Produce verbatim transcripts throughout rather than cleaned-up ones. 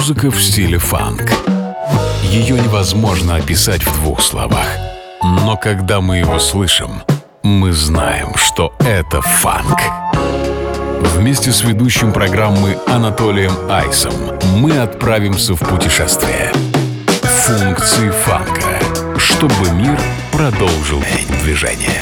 Музыка в стиле фанк. Ее невозможно описать в двух словах. Но когда мы его слышим, мы знаем, что это фанк. Вместе с ведущим программы Анатолием Айсом мы отправимся в путешествие. Функции фанка, чтобы мир продолжил движение.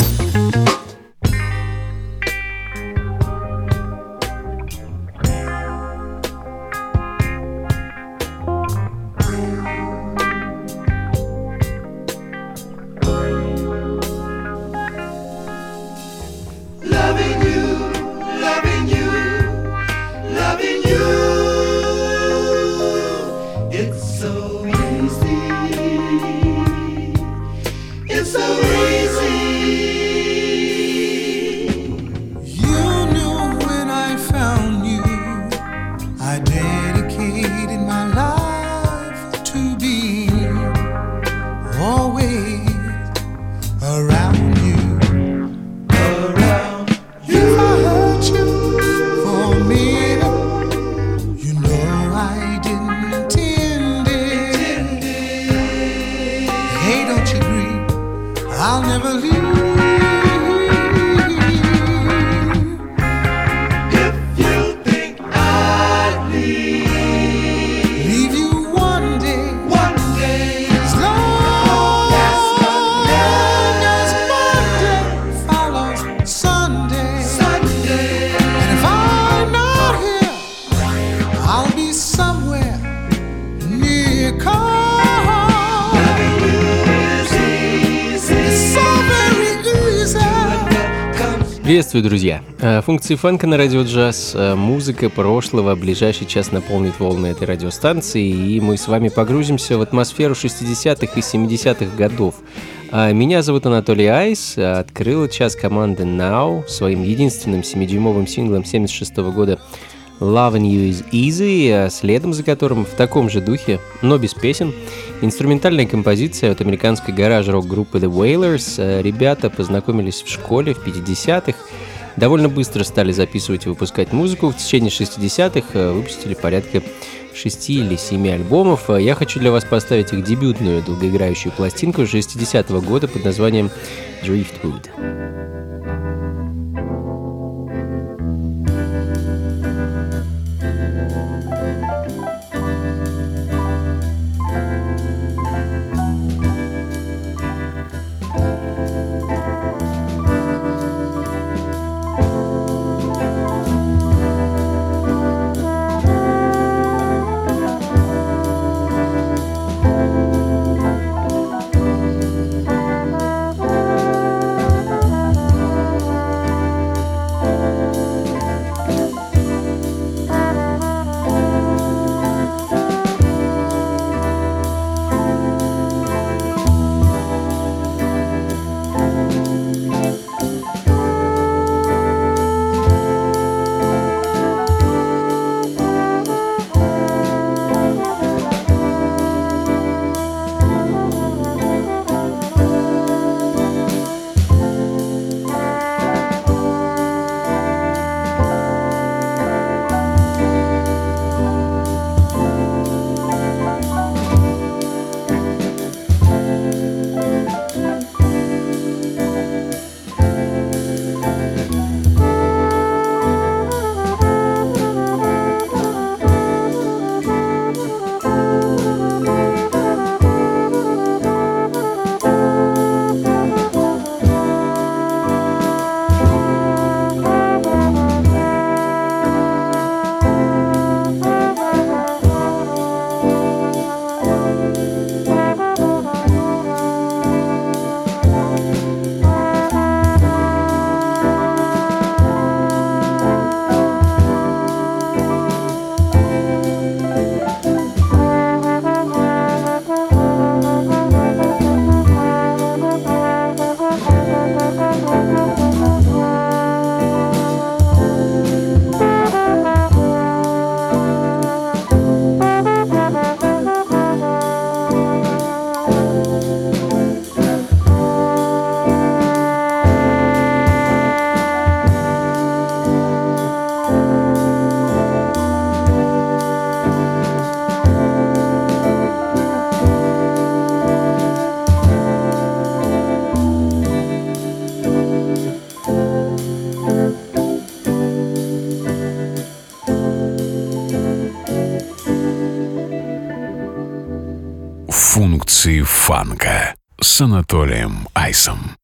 Приветствую, друзья! Функции фанка на радио джаз. Музыка прошлого. Ближайший час наполнит волны этой радиостанции, и мы с вами погрузимся в атмосферу шестидесятых и семидесятых годов. Меня зовут Анатолий Айс. Открыла час команда Now своим единственным семидюймовым синглом семьдесят шестого года Loving You Is Easy, следом за которым в таком же духе, но без песен, инструментальная композиция от американской гараж-рок-группы The Wailers. Ребята познакомились в школе в пятидесятых, довольно быстро стали записывать и выпускать музыку. В течение шестидесятых выпустили порядка шести или семи альбомов. Я хочу для вас поставить их дебютную долгоиграющую пластинку шестидесятого года под названием Driftwood. Функции фанка с Анатолием Айсом.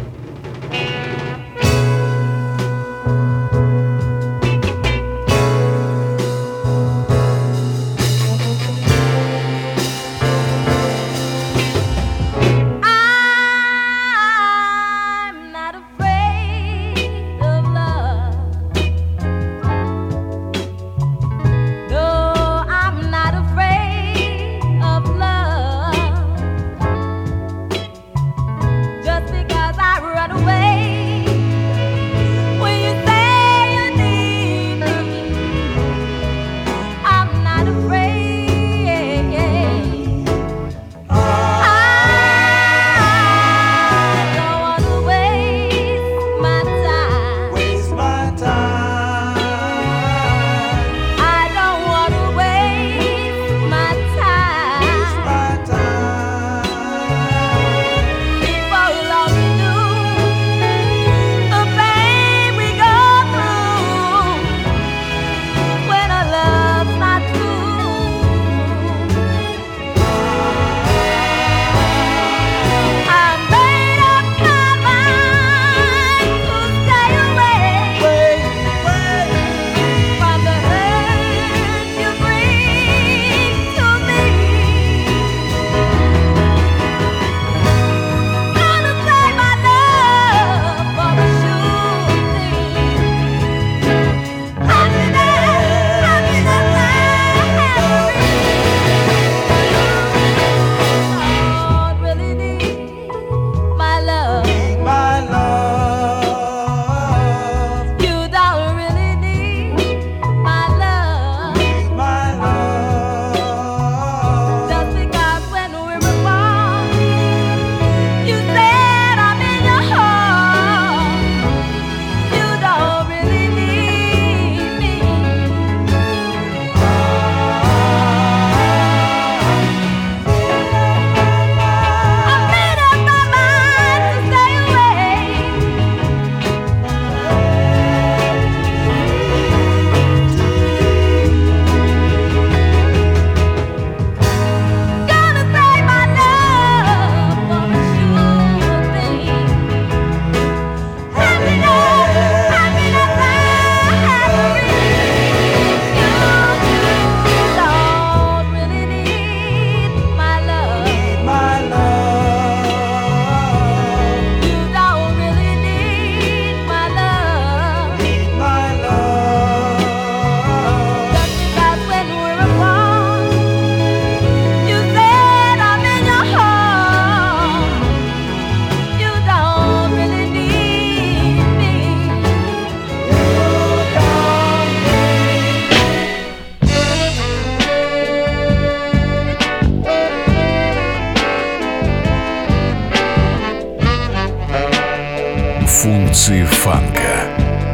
Функции фанка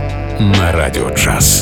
на радио джаз.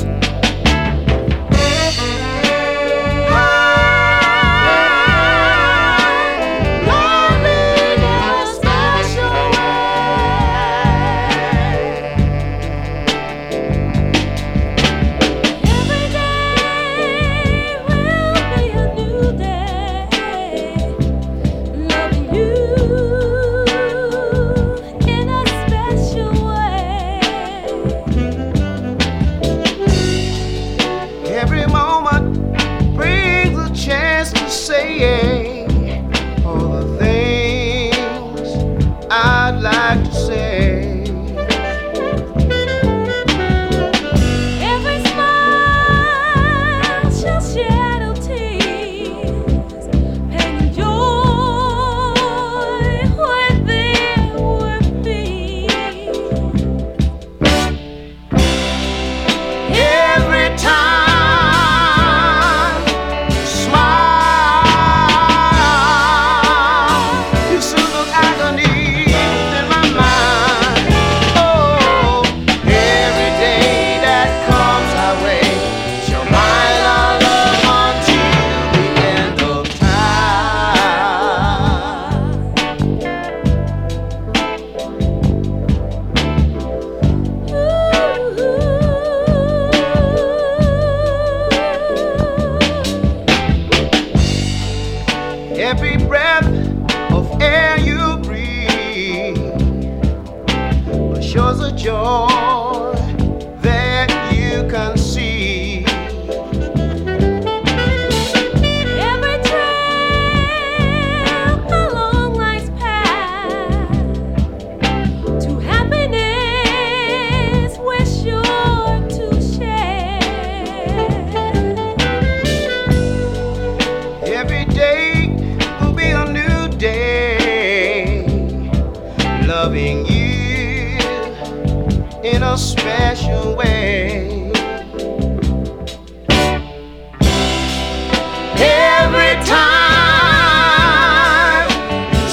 special way. Every time you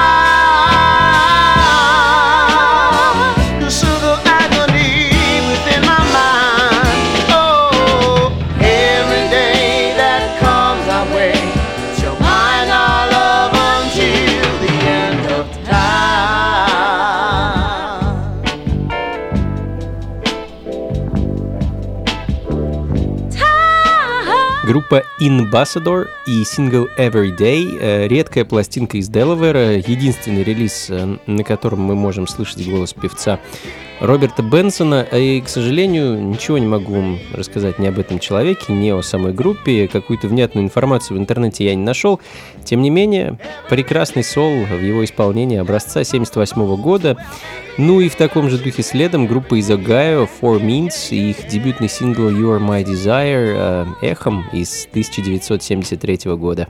smile, you soothe the agony within my mind. Oh, every day that comes our way, shall bind our love until the end of time. Группа Ambassador и сингл Every Day, редкая пластинка из Делавера, единственный релиз, на котором мы можем слышать голос певца Роберта Бенсона, и, к сожалению, ничего не могу вам рассказать ни об этом человеке, ни о самой группе, какую-то внятную информацию в интернете я не нашел. Тем не менее, прекрасный сол в его исполнении образца семьдесят восьмого года. Ну и в таком же духе следом группа из Огайо Four Means и их дебютный сингл You Are My Desire эхом из тысяча девятьсот семьдесят третьего года.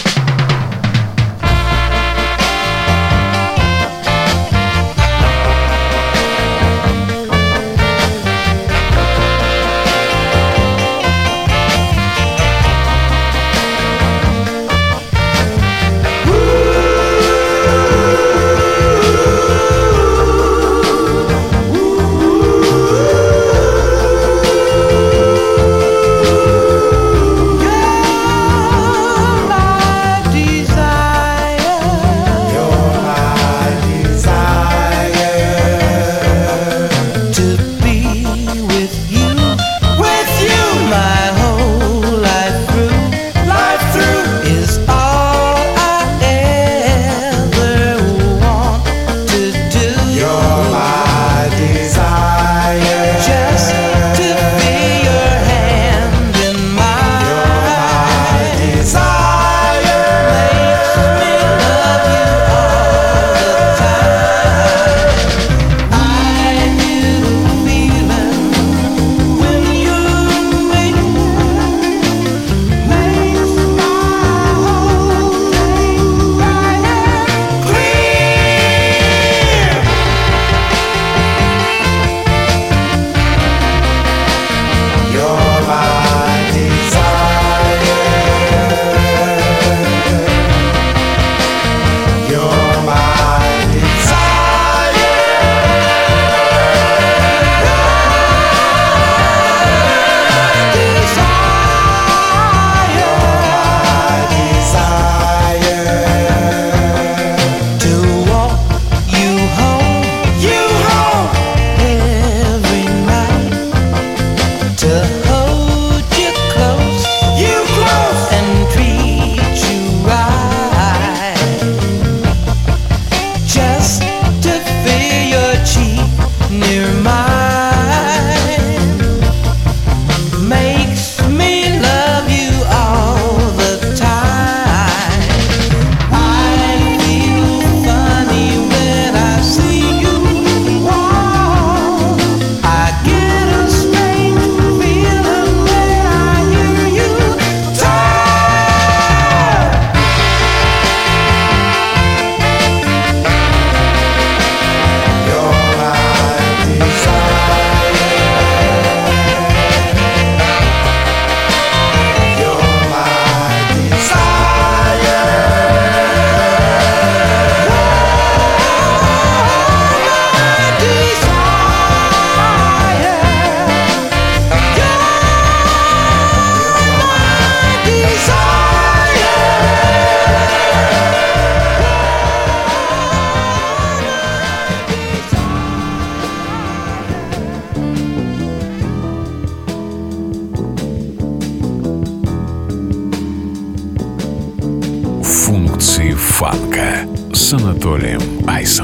Фанка с Анатолием Айсом.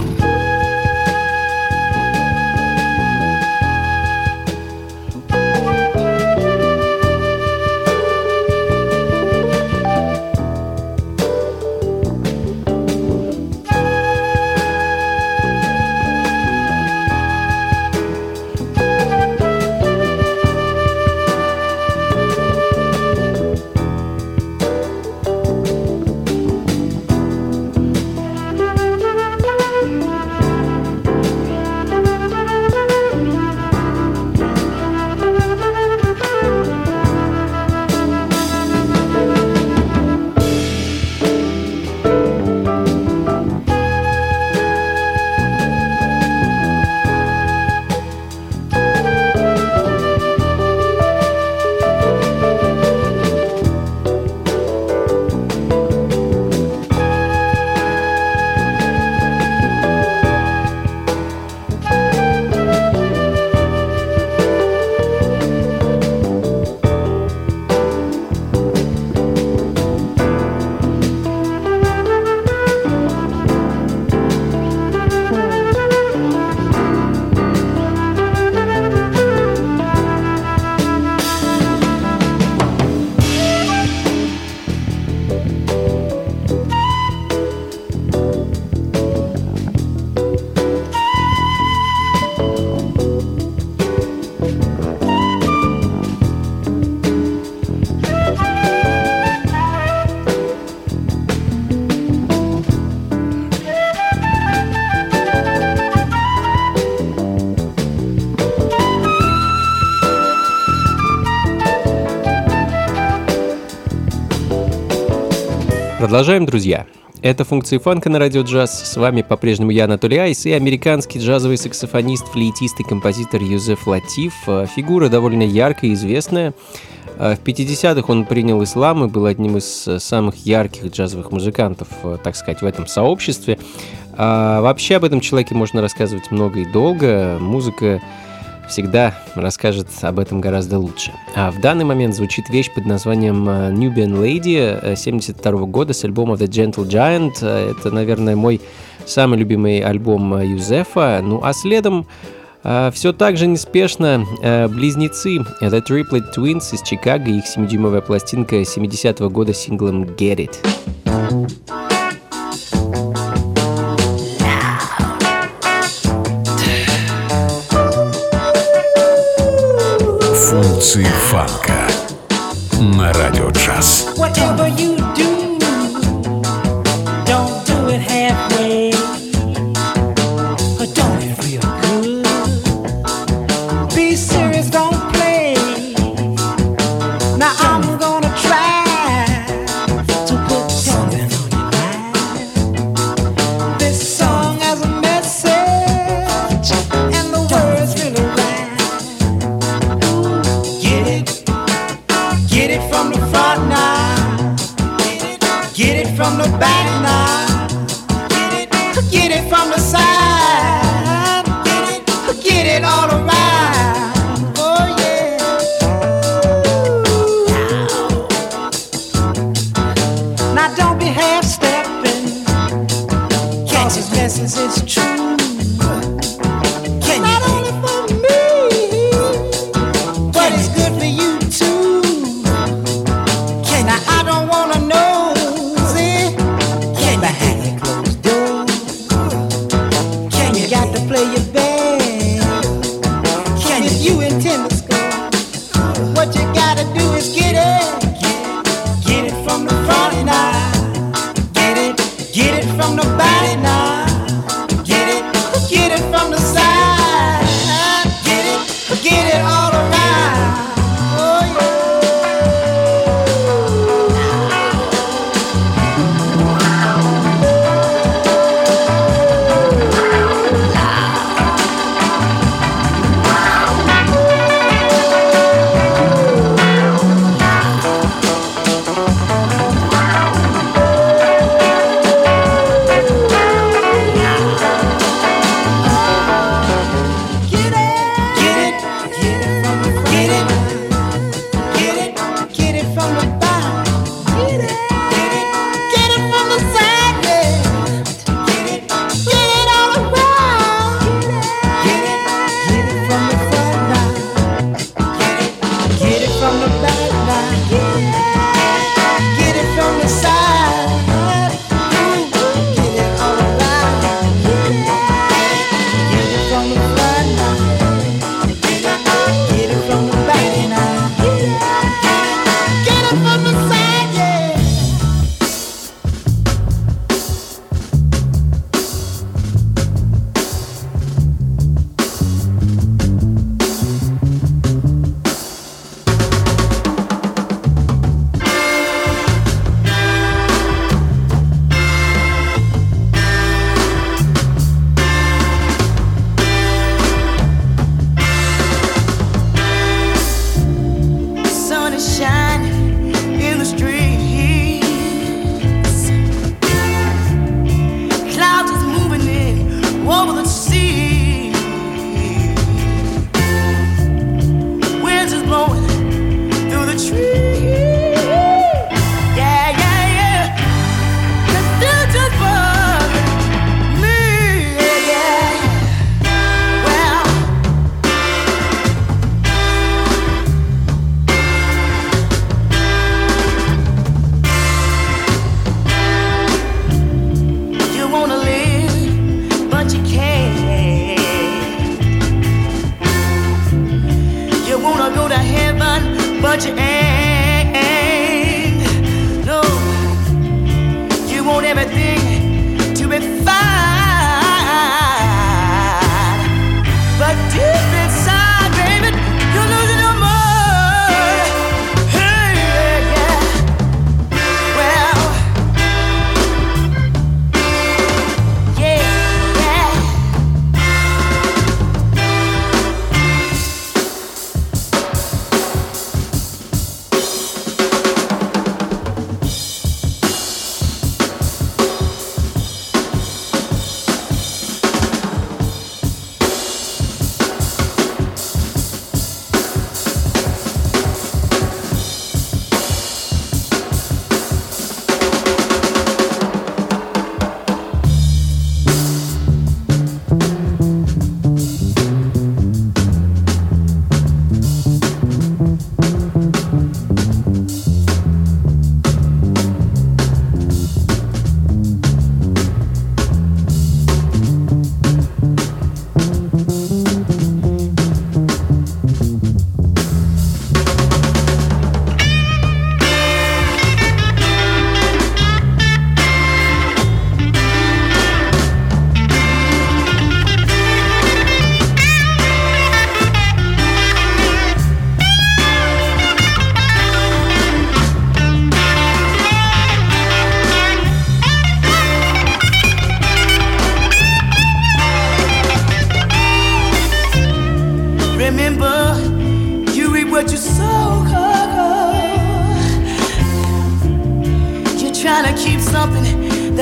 Продолжаем, друзья. Это функции фанка на радио джаз. С вами по-прежнему я, Анатолий Айс, и американский джазовый саксофонист, флейтист и композитор Юзеф Латиф. Фигура довольно яркая и известная. В пятидесятых он принял ислам и был одним из самых ярких джазовых музыкантов, так сказать, в этом сообществе. А вообще об этом человеке можно рассказывать много и долго. Музыка всегда расскажет об этом гораздо лучше. А в данный момент звучит вещь под названием Nubian Lady семьдесят второго года с альбома The Gentle Giant. Это, наверное, мой самый любимый альбом Юзефа. Ну а следом Uh, все так же неспешно uh, близнецы The Triplet Twins из Чикаго, их семидюймовая пластинка семидесятого года с синглом Get It. Функции фанка на радио джаз. Whatever you do, don't do it halfway. Don't it real good. Be serious, don't play. Now I'm gonna try to put something on your mind. This song has a message, and the words really rhyme. Get it, get it from the front now. Get it from the back now. Get it, get it from the side. Get it, get it all around. Oh yeah. Now don't be half stepping. Catch his message, it's true. Can Not you only for me, but it's good for you too. Can now I don't wanna know, see? Can you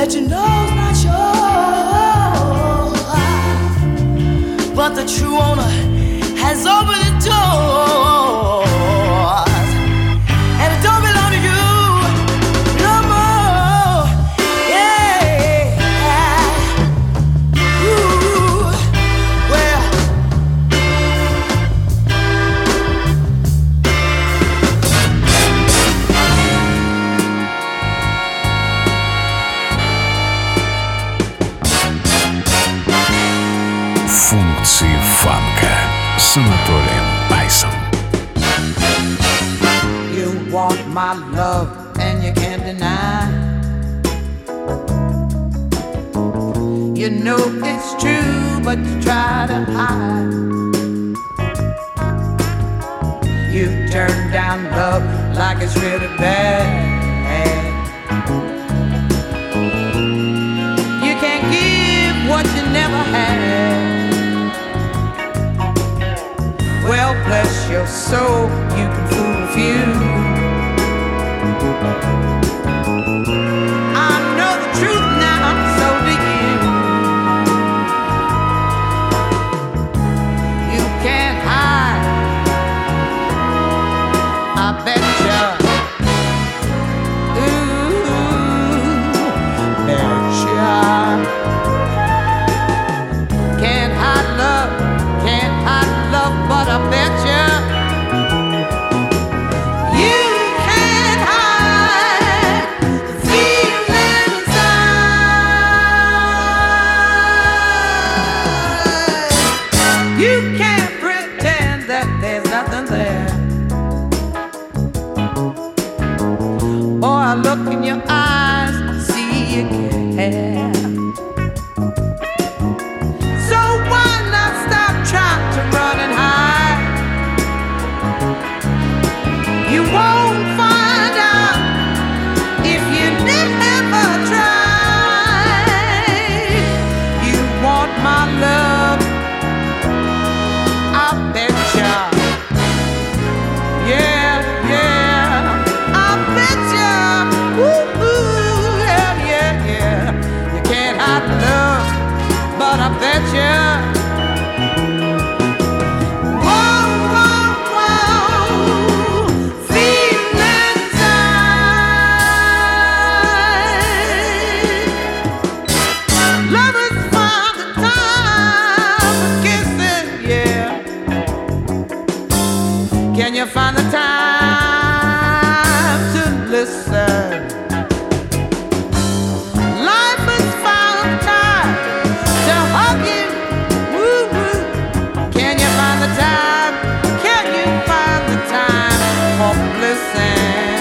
that you know's not yours, but the true owner has opened the doors, and it don't belong to you no more. Yeah. Ooh. Well, Функции фанка с Анатолием Айсом. you want my love and you can't deny. You know it's true, but you try to hide. You turn down love like it's really bad. You can't give what you never had. Well, bless your soul, you can fool a few. I know the truth now, so do you. You can't hide, I bet ya. Ooh, bet ya. Can't hide love, can't hide love, but I bet ya. You can't hide the feeling inside. You can't pretend that there's nothing there. Boy, I look in your eyes, I see you care. So why not stop trying to run and hide? You won't find out if you never try. You want my love, I bet ya. Yeah, yeah, I bet ya. Ooh, ooh, yeah, yeah, yeah. You can't hide love, but I bet ya. Whoa, whoa, whoa, feeling inside. Lovers find the time for kissing, yeah. Can you find the time to listen? Life has found time to hug you. Woo-woo. Can you find the time? Can you find the time for listen?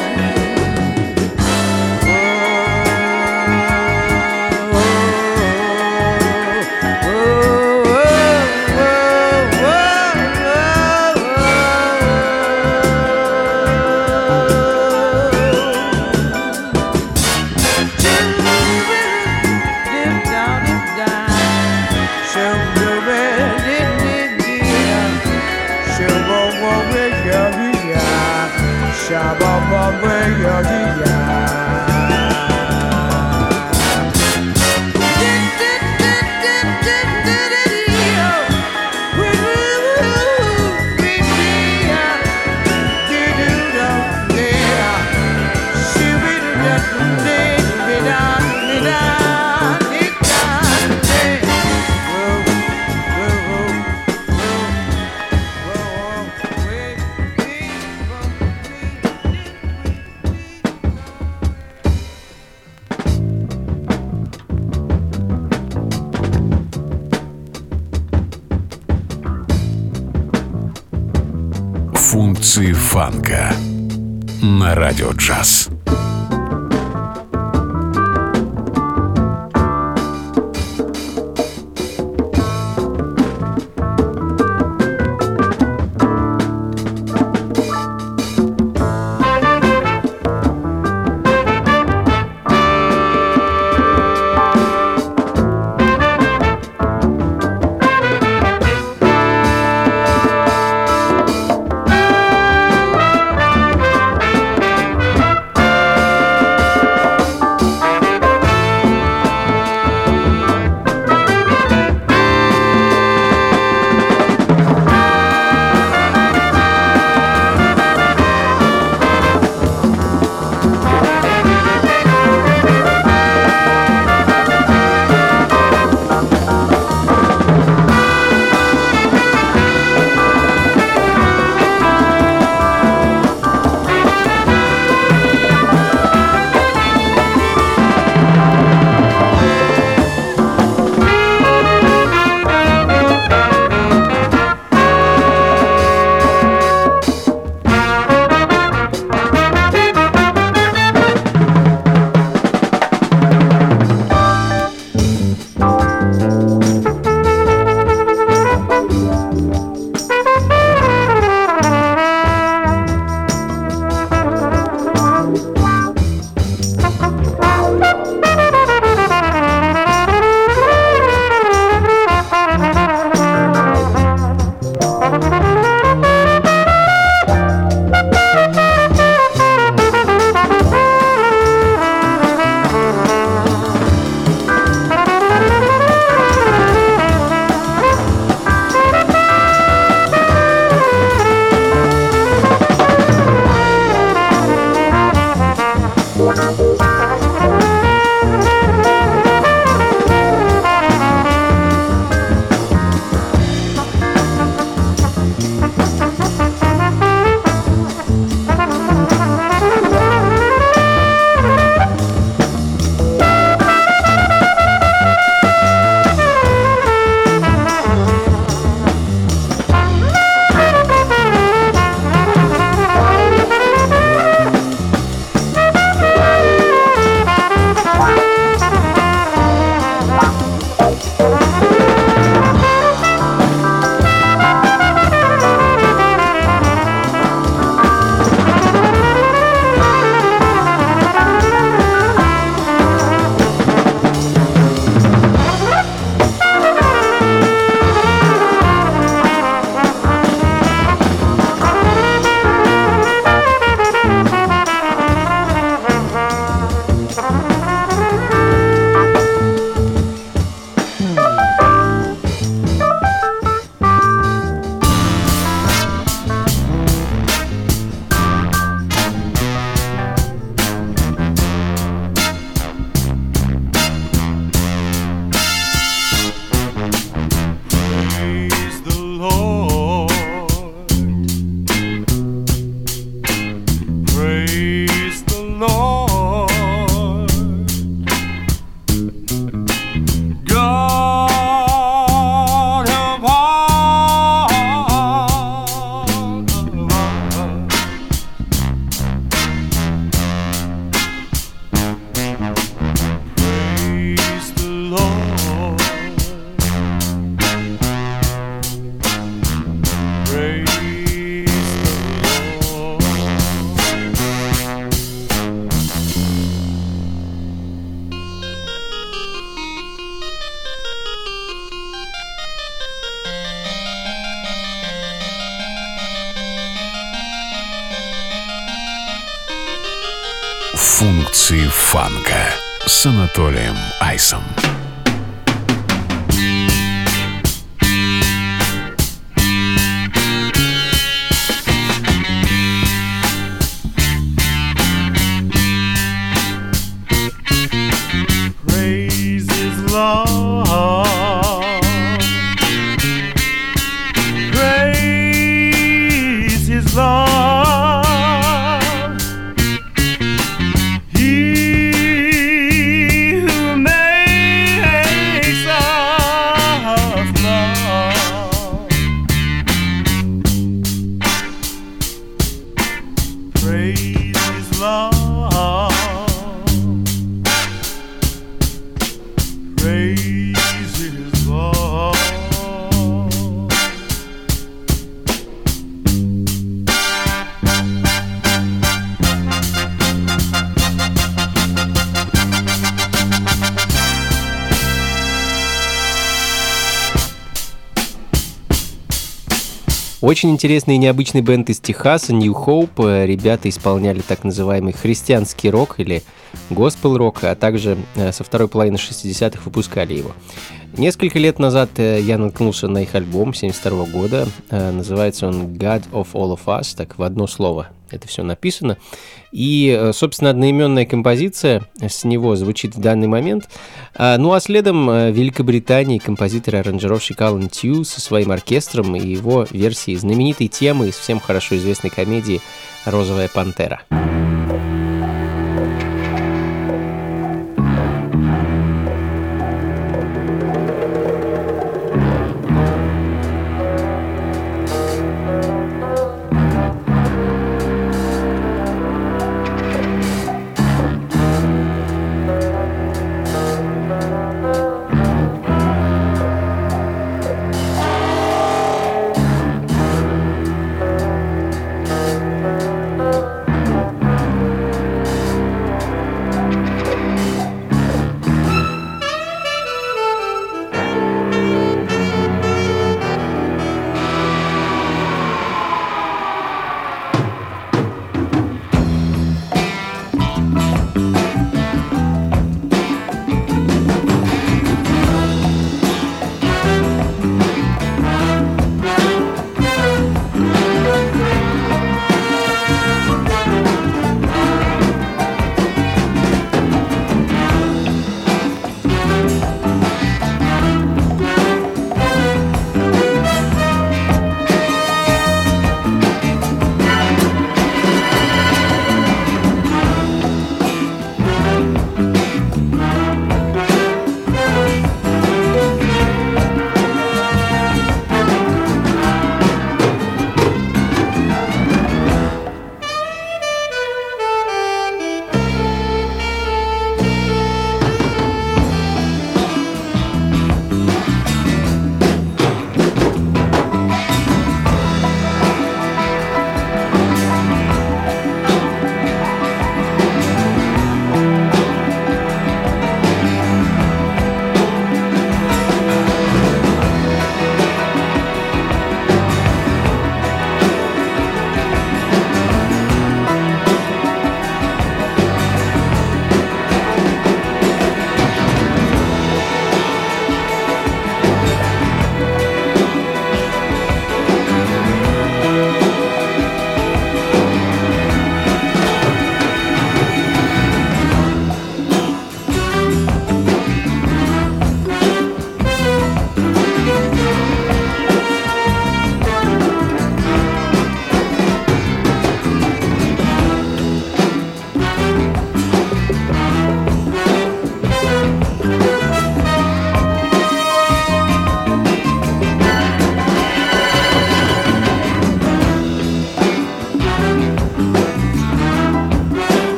Функции фанка на радио джаз. Thank Praise the Lord. God of all, praise the Lord. Praise Функции фанка с Анатолием Айсом. Praise His love. Praise His love. Очень интересный и необычный бенд из Техаса, New Hope. Ребята исполняли так называемый христианский рок или госпел-рок, а также со второй половины шестидесятых выпускали его. Несколько лет назад я наткнулся на их альбом семьдесят второго года. Называется он God of All of Us, так в одно слово это все написано. И, собственно, одноименная композиция с него звучит в данный момент. Ну а следом в Великобритании композитор и аранжировщик Алан Тью со своим оркестром и его версией знаменитой темы из всем хорошо известной комедии «Розовая пантера».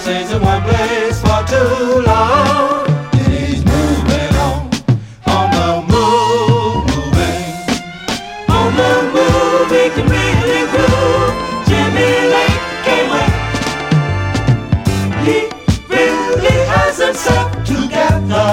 stays in one place for too long. And he's moving on, on the move, moving. On the move, he can really groove. Jimmy Lake can't wait. He really has himself together.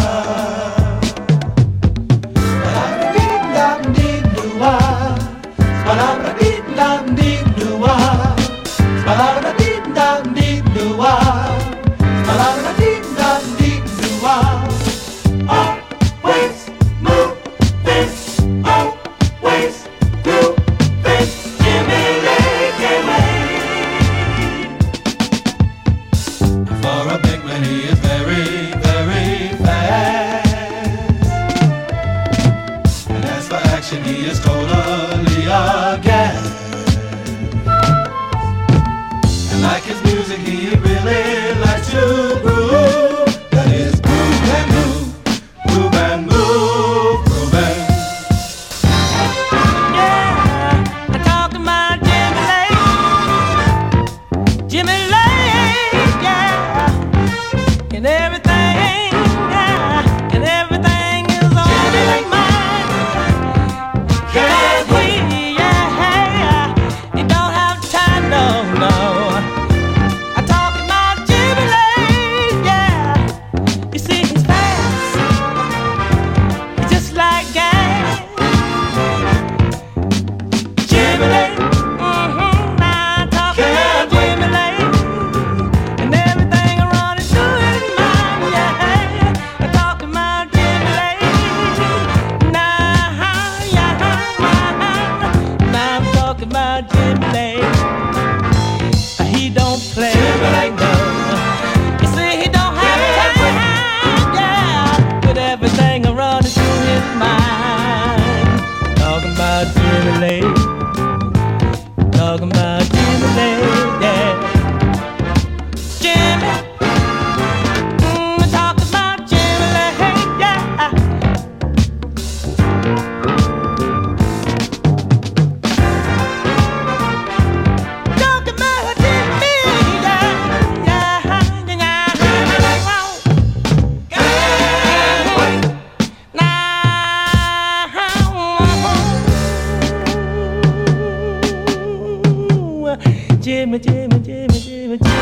Jimmy, Jimmy, Jimmy, Jimmy, Jimmy.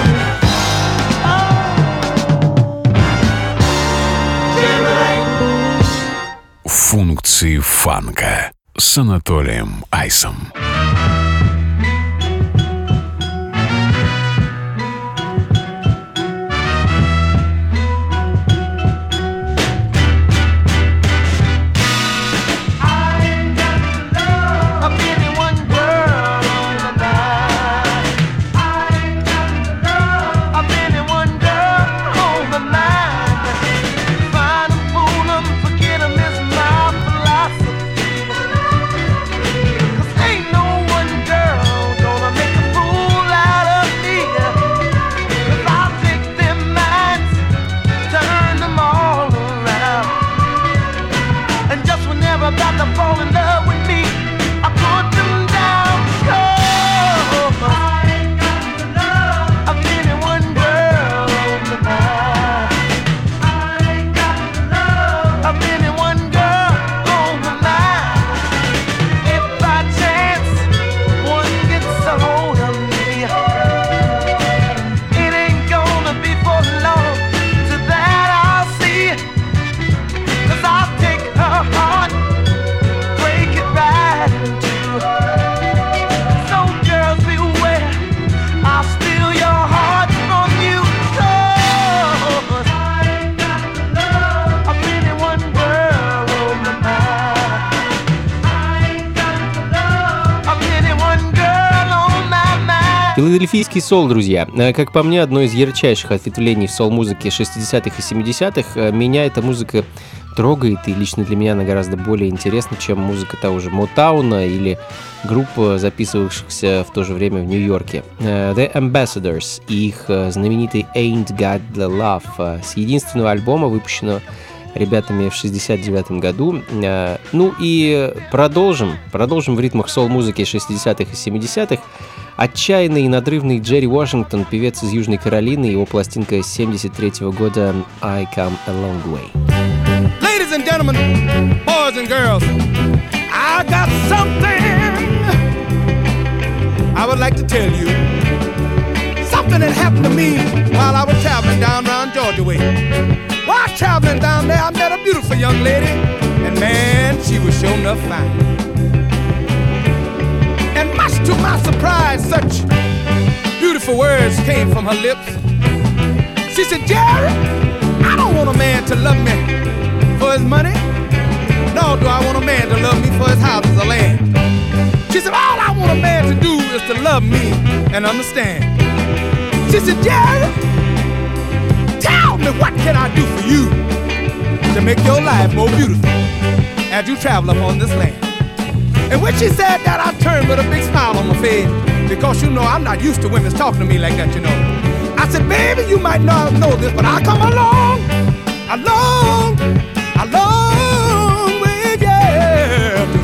Функции фанка с Анатолием Айсом. Филадельфийский соул, друзья. Как по мне, одно из ярчайших ответвлений в соул-музыке шестидесятых и семидесятых. Меня эта музыка трогает, и лично для меня она гораздо более интересна, чем музыка того же Мотауна или групп, записывавшихся в то же время в Нью-Йорке. The Ambassadors и их знаменитый Ain't Got The Love с единственного альбома, выпущенного ребятами в шестьдесят девятом году. Ну и продолжим, продолжим в ритмах соул-музыки шестидесятых и семидесятых. Отчаянный и надрывный Джерри Вашингтон, певец из Южной Каролины, его пластинка семьдесят третьего года «I Come a Long Way». Ladies and gentlemen, boys and girls, I got something I would like to tell you. Something that happened to me while I was traveling down around Georgia way. While traveling down there, I met a beautiful young lady, and man, she was sure enough fine. And much to my surprise, such beautiful words came from her lips. She said, Jerry, I don't want a man to love me for his money, nor do I want a man to love me for his houses or land. She said, all I want a man to do is to love me and understand. She said, Jerry, tell me what can I do for you to make your life more beautiful as you travel upon this land. And when she said that, I turned with a big smile on my face, because you know I'm not used to women talking to me like that, you know. I said, baby, you might not know this, but I come along, along, along way, yeah, to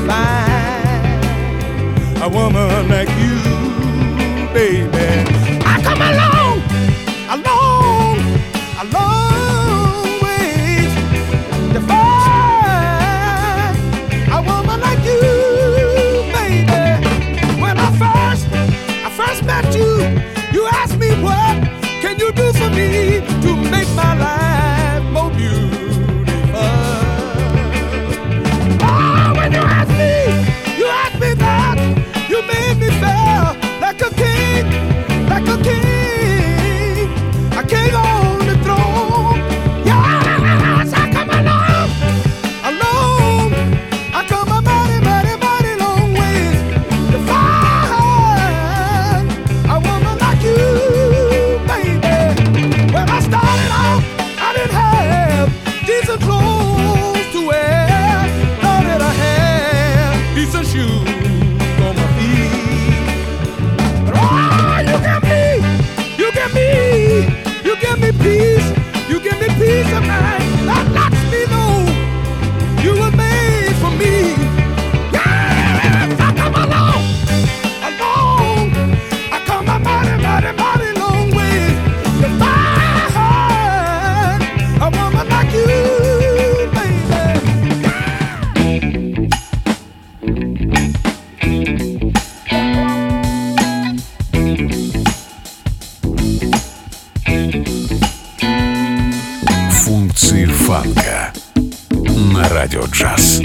find a woman like you, baby. I come along, along, along way to find a woman like you, baby. When I first, I first met you, you asked me what can you do for me to make my life more beautiful. Oh, when you asked me, you asked me that, you made me feel like a king, like a king, a king on the throne. Yes, I come along, along, I come a mighty, mighty, mighty long ways to find a woman like you, baby. When I started out, I didn't have decent clothes to wear, nor did I have decent shoes on my feet. But oh, you give me, you give me, you give me peace, you give me peace of mind. That lets me know you were made for me. Yes, I come along, along, I come a mighty, mighty, mighty long way to find a woman like you, Функции фанка на радио джаз.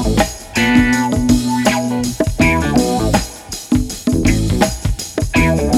Thank you.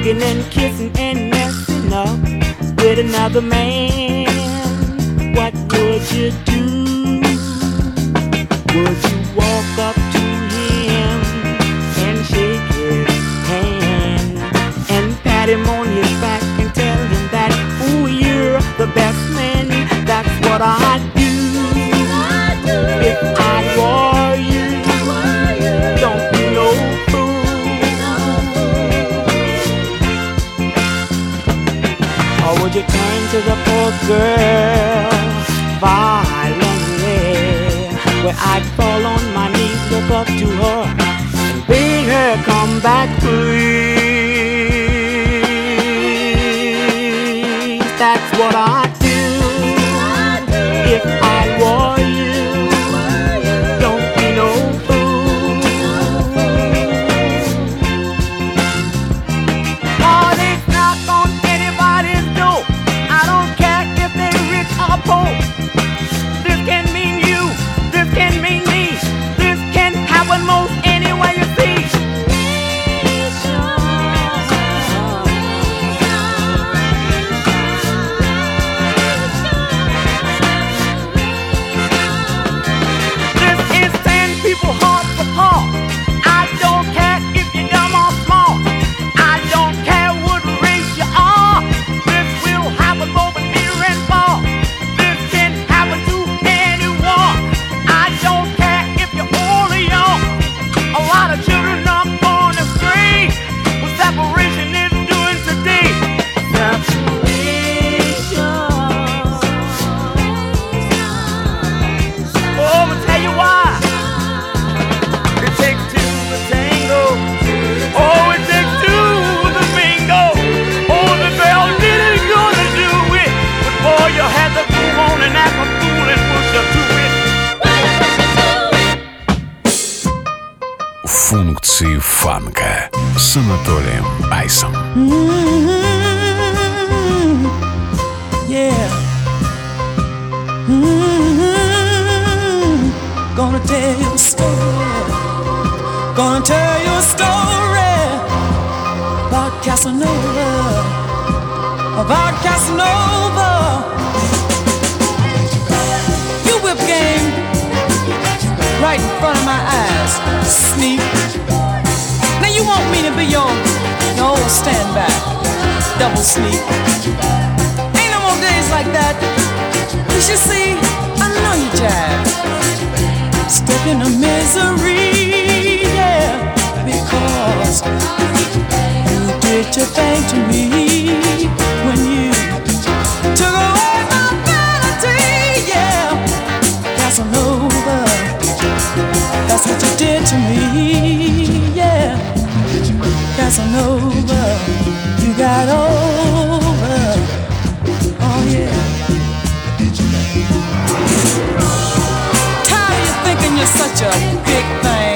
hugging and kissing and messing up with another man, what would you do? Would you walk up to him and shake his hand and pat him on his back and tell him that, ooh, you're the best man? That's what I'd do if I were you. Don't be no fool. Or would you turn to the poor girl violently, where I'd fall on my knees, look up to her and beg her come back please? That's what I'd do if I were you. Don't be no fool. Heartaches knock on anybody's door. I don't care if they're rich or poor. This can mean you, this can mean me. This can happen most any way you see. Функции фанка с Анатолием Айсом. Mm-hmm. Yeah. Mm-hmm. Gonna tell you a story. Gonna tell you a story about Casanova. About Casanova. You whip game right in front of my eyes. Sneak. Now you want me to be your, your old stand back, double sneak. Ain't no more days like that. You should see, I know you jive. Stuck in a misery, yeah, because you did your thing to me when you took away my vanity, yeah. Casanova, that's what you did to me, yeah. Casanova, you got over, oh yeah. Tired of you thinking you're such a big thing,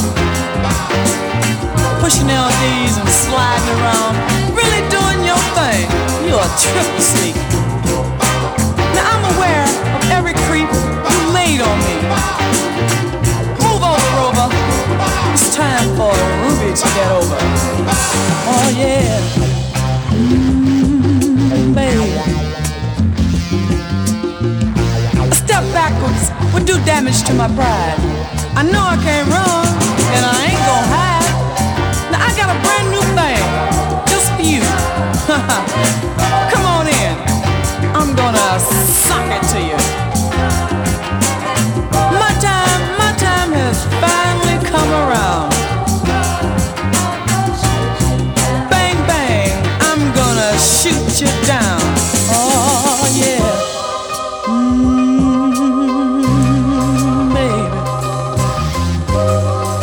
pushing L Ds and sliding around, really doing your thing. You're a triple sneak. Now I'm aware of every creep you laid on me. Move over, Rover. It's time for Ruby to get over. Oh yeah, mm, baby. A step backwards would do damage to my pride. I know I can't run, and I ain't gonna hide. Now I got a brand new thing just for you. Come on in. I'm gonna sock it to you. My time, my time has finally come around. Bang, bang, I'm gonna shoot you down. Oh, yeah. Mm, baby.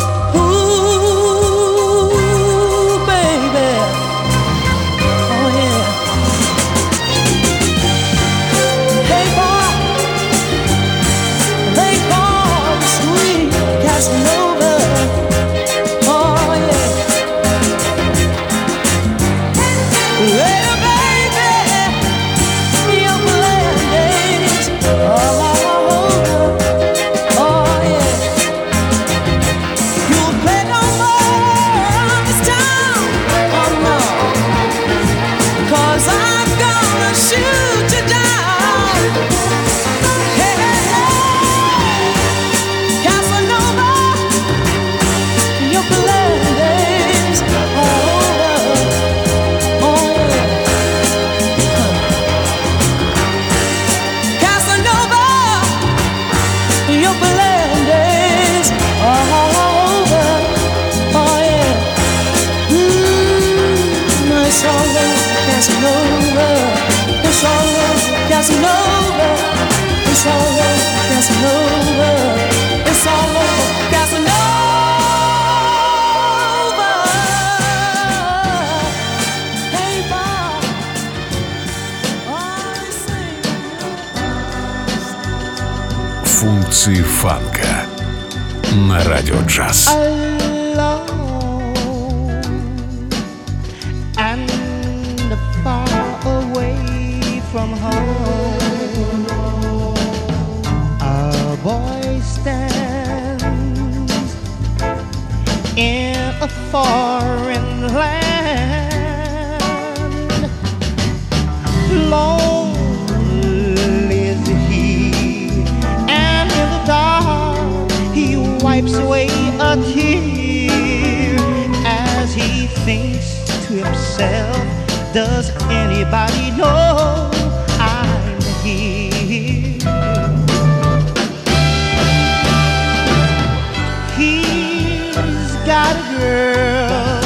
Функции фанка на радио джаз. And far away from home, a boy stands in a foreign land. Lonely is he, and in the dark he wipes away a tear as he thinks to himself, does anybody know I'm here? He's got a girl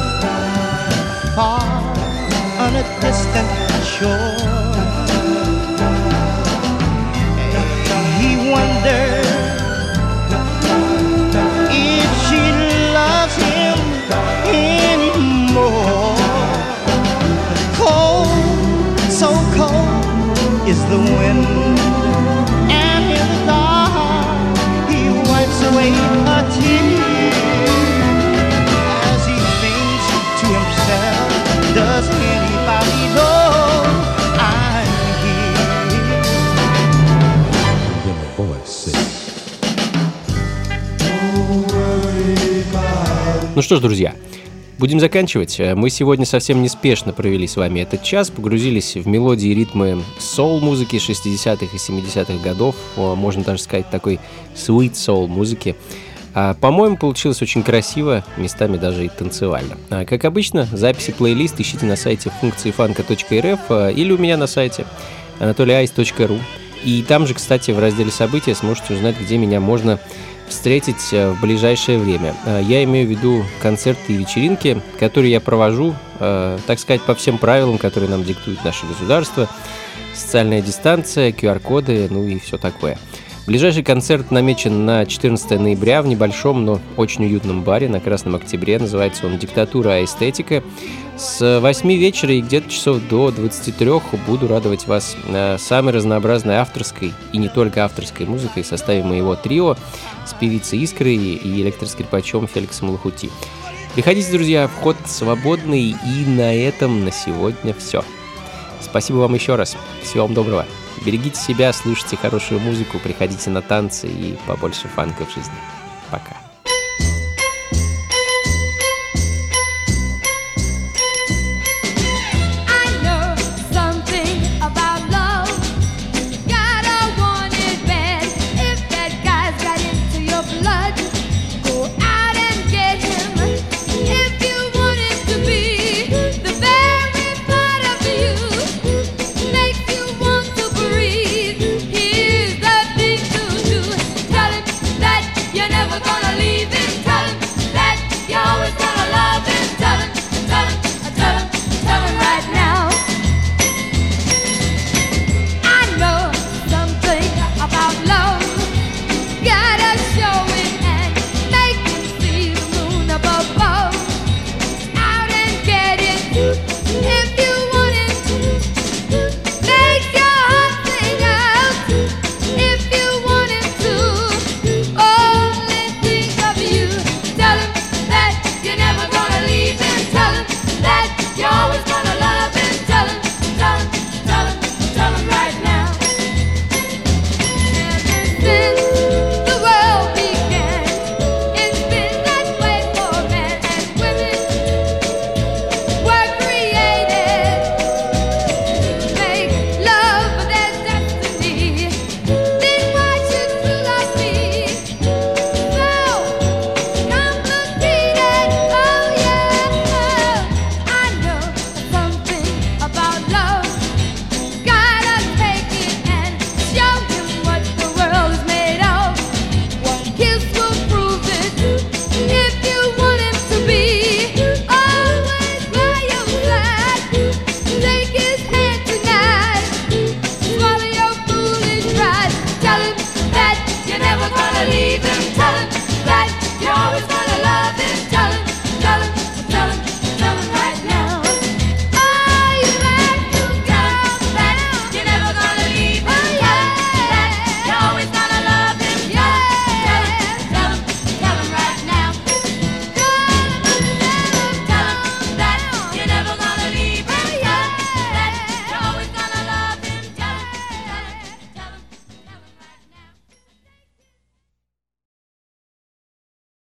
far on a distant shore. He wonders if she loves him anymore. Cold, so cold is the wind, and in the dark he wipes away a tear as he thinks to himself, does anybody know I'm here? Then the boy said, Ну что ж, друзья, будем заканчивать. Мы сегодня совсем неспешно провели с вами этот час, погрузились в мелодии и ритмы соул-музыки шестидесятых и семидесятых годов, можно даже сказать, такой sweet соул-музыки. По-моему, получилось очень красиво, местами даже и танцевально. Как обычно, записи плейлист ищите на сайте функции фанка точка эр эф или у меня на сайте анатолий айс точка ру. И там же, кстати, в разделе «События» сможете узнать, где меня можно встретить в ближайшее время. Я имею в виду концерты и вечеринки, которые я провожу, так сказать, по всем правилам, которые нам диктует наше государство. Социальная дистанция, ку ар коды, ну и все такое. Ближайший концерт намечен на четырнадцатое ноября в небольшом, но очень уютном баре на Красном Октябре. Называется он «Диктатура а эстетика». С восьми вечера и где-то часов до двадцати трёх буду радовать вас самой разнообразной авторской и не только авторской музыкой в составе моего трио с певицей Искрой и электроскрипачом Феликсом Лохути. Приходите, друзья, вход свободный, и на этом на сегодня все. Спасибо вам еще раз. Всего вам доброго. Берегите себя, слушайте хорошую музыку, приходите на танцы и побольше фанка в жизни.